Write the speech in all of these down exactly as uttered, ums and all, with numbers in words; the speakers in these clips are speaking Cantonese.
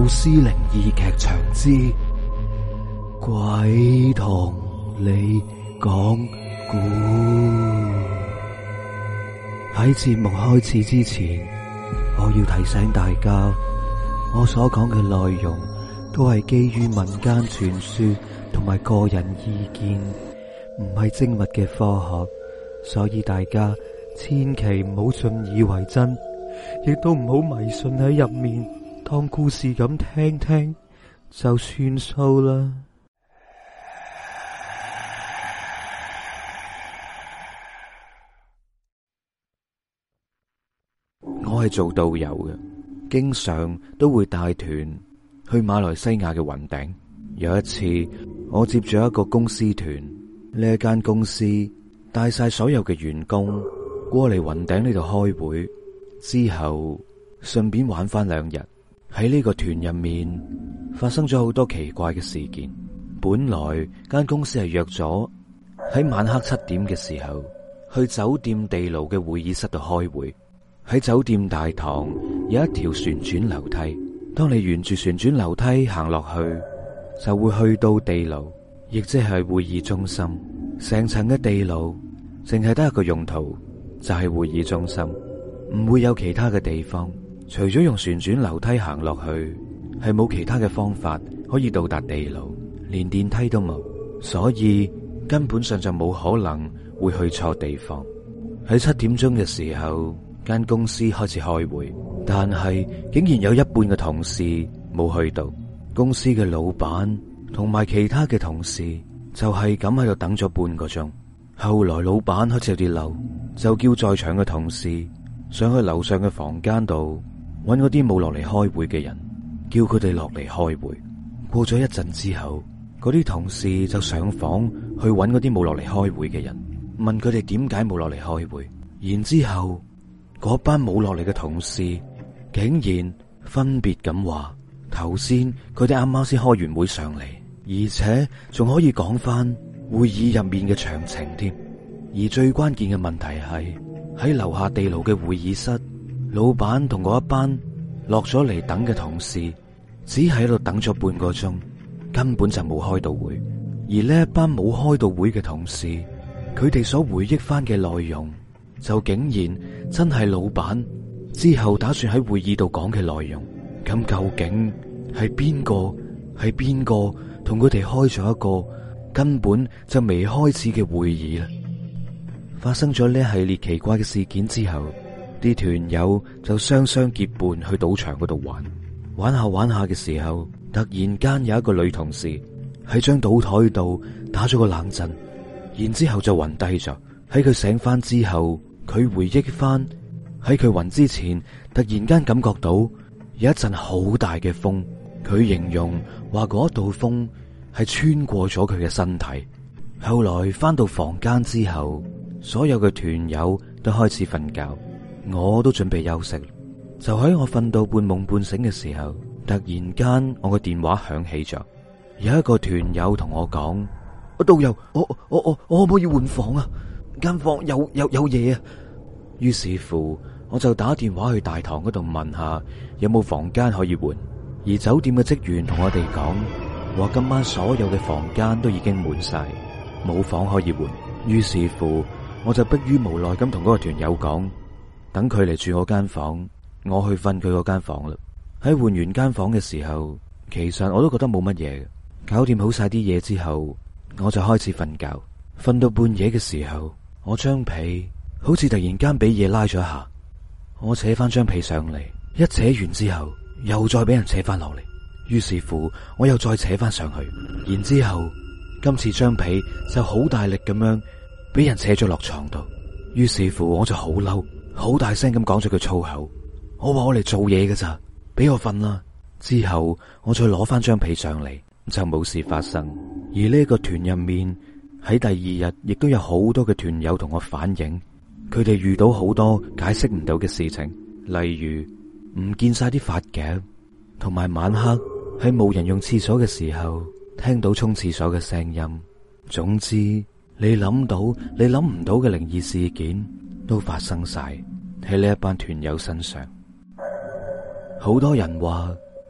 故事靈異劇場之鬼同你講故。喺節目開始之前，我要提醒大家，我所講嘅內容都係基於民間傳說同埋個人意見，唔係精密嘅科學，所以大家千祈唔好信以為真，亦都唔好迷信喺入面，當故事咁聽聽就算數啦。我係做導遊嘅，經常都會帶團去馬來西亞嘅雲頂。有一次，我接咗一個公司團，呢一間公司帶晒所有嘅員工過嚟雲頂呢度開會，之後順便玩翻兩日。喺呢個團入面發生咗好多奇怪嘅事件。本來間公司係約咗喺晚黑七點嘅時候去酒店地牢嘅會議室度開會。喺酒店大堂有一條旋轉樓梯，當你沿住旋轉樓梯行落去，就會去到地牢，亦即係會議中心。成層嘅地牢淨係得一個用途，就係會議中心，唔會有其他嘅地方。除咗用旋轉樓梯行落去，係冇其他嘅方法可以到達地牢，連電梯都冇，所以根本上就冇可能會去錯地方。喺七點鐘嘅時候，間公司開始開會，但係竟然有一半嘅同事冇去到。公司嘅老闆同埋其他嘅同事就係咁喺度等咗半個鐘。後來老闆開始有啲嬲，就叫在場嘅同事上去樓上嘅房間度揾嗰啲冇落嚟開會嘅人，叫佢哋落嚟開會。過咗一陣之後，嗰啲同事就上房去揾嗰啲冇落嚟開會嘅人，問佢哋點解冇落嚟開會。然之後嗰班冇落嚟嘅同事竟然分別咁話，頭先佢哋啱啱先開完會上嚟，而且仲可以講翻會議入面嘅詳情添。而最關鍵嘅問題係喺樓下地牢嘅會議室，老闆同嗰一班落咗嚟等嘅同事只係喺度等咗半個鐘，根本就冇開到會。而呢一班冇開到會嘅同事，佢哋所回憶翻嘅內容就竟然真係老闆之後打算喺會議度講嘅內容。咁究竟係邊個係邊個同佢哋開咗一個根本就未開始嘅會議呢？發生咗呢一系列奇怪嘅事件之後，啲團友就雙雙結伴去賭場嗰度玩。玩下玩下嘅時候，突然間有一個女同事喺張賭台度打咗個冷震，然之後就暈低咗。喺佢醒翻之後，佢回憶翻喺佢暈之前，突然間感覺到有一陣好大嘅風。佢形容話嗰道風係穿過咗佢嘅身體。後來翻到房間之後，所有嘅團友都開始瞓覺，我都準備休息。就喺我瞓到半夢半醒嘅時候，突然間我個電話響起咗，有一個團友同我講：我導遊，我我我我可唔可以換房啊？間房有有有嘢啊！於是乎，我就打電話去大堂嗰度問下有冇房間可以換。而酒店嘅職員同我哋講，話今晚所有嘅房間都已經滿晒，冇房可以換。於是乎，我就迫於無奈咁同嗰個團友講，等佢嚟住我間房，我去瞓佢嗰間房啦。喺換完間房嘅時候，其實我都覺得冇乜嘢。搞掂好晒啲嘢之後，我就開始瞓覺。瞓到半夜嘅時候，我張被好似突然間俾嘢拉咗一下，我扯翻張被上嚟，一扯完之後又再俾人扯翻落嚟。於是乎，我又再扯翻上去，然之後今次張被就好大力咁樣俾人扯咗落床度。於是乎，我就好嬲，好大聲咁講咗句粗口。我話我嚟做嘢㗎咋，俾我瞓啦。之後我再攞翻張被上嚟，就冇事發生。而呢個團入面喺第二日亦都有好多嘅團友同我反映，佢哋遇到好多解釋唔到嘅事情，例如唔見晒啲髮夾，同埋晚黑喺冇人用廁所嘅時候聽到沖廁所嘅聲音。總之，你諗到你諗唔到嘅靈異事件都發生晒喺呢一班團友身上。好多人話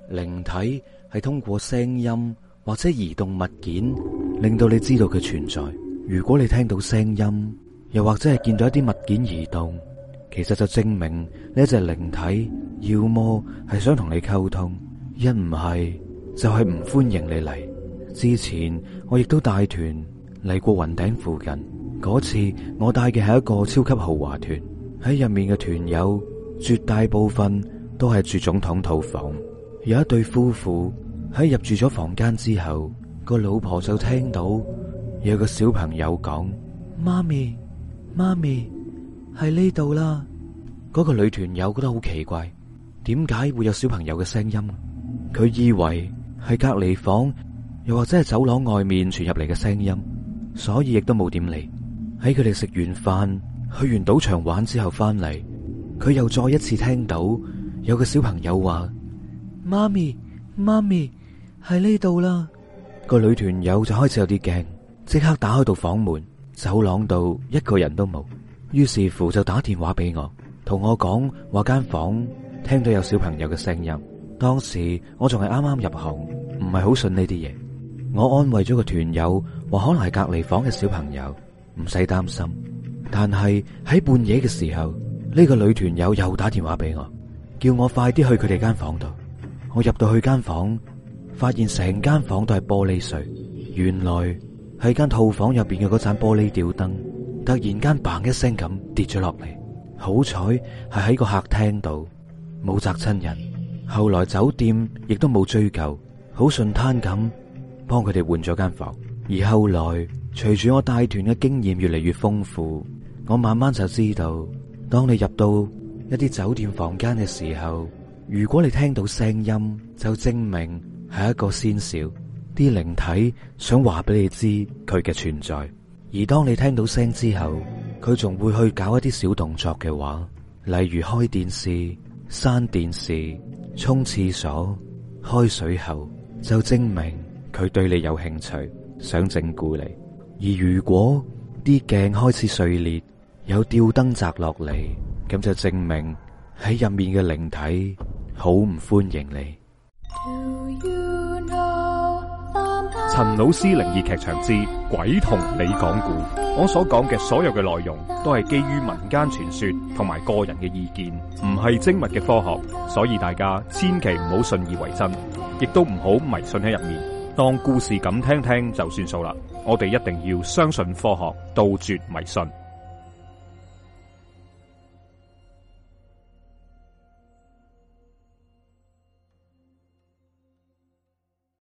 靈體係通過聲音或者移動物件令到你知道佢存在。如果你聽到聲音，又或者係見到一啲物件移動，其實就證明呢一隻靈體要麼係想同你溝通，一唔係就係唔歡迎你嚟。之前我亦都帶團嚟過雲頂附近，嗰次我帶嘅係一個超級豪華團，喺入面嘅團友絕大部分都係住總統套房。有一對夫婦喺入住咗房間之後，個老婆就聽到有個小朋友講：媽咪，媽咪，喺呢度啦。嗰個女團友覺得好奇怪，點解會有小朋友嘅聲音？佢以為係隔離房又或者係走廊外面傳入嚟嘅聲音，所以亦都冇點理。喺佢哋食完飯去完賭場玩之後翻嚟，佢又再一次聽到有個小朋友話：媽咪，媽咪，喺呢度啦。個女團友就開始有啲驚，即刻打開道房門，走廊度一個人都冇。於是乎就打電話俾我，同我講話間房聽到有小朋友嘅聲音。當時我仲係啱啱入行，唔係好信呢啲嘢。我安慰咗個團友，話可能係隔離房嘅小朋友，唔使擔心。但係喺半夜嘅時候，呢個女團友又打電話俾我，叫我快啲去佢哋間房度。我入到去間房，發現成間房都係玻璃碎。原來係間套房入邊嘅嗰盞玻璃吊燈突然間嘭一聲咁跌咗落嚟。好彩係喺個客廳度，冇砸親人。後來酒店亦都冇追究，好順攤咁幫佢哋換咗間房。而後來隨住我帶團嘅經驗越嚟越豐富，我慢慢就知道，當你入到一啲酒店房間嘅時候，如果你聽到聲音，就證明係一個先兆，啲靈體想話俾你知佢嘅存在。而當你聽到聲之後，佢仲會去搞一啲小動作嘅話，例如開電視、閂電視、沖廁所、開水喉，就證明佢對你有興趣，想整蠱你。而如果啲鏡開始碎裂，有吊燈砸落嚟，咁就證明喺入面嘅靈體好唔歡迎你。 陳老師靈異劇場之鬼同你講故，我所講嘅所有嘅內容都係基於民間傳說同埋個人嘅意見，唔係精密嘅科學，所以大家千祈唔好信以為真，亦都唔好迷信喺入面，當故事咁聽聽就算數啦。我哋一定要相信科學，杜絕迷信。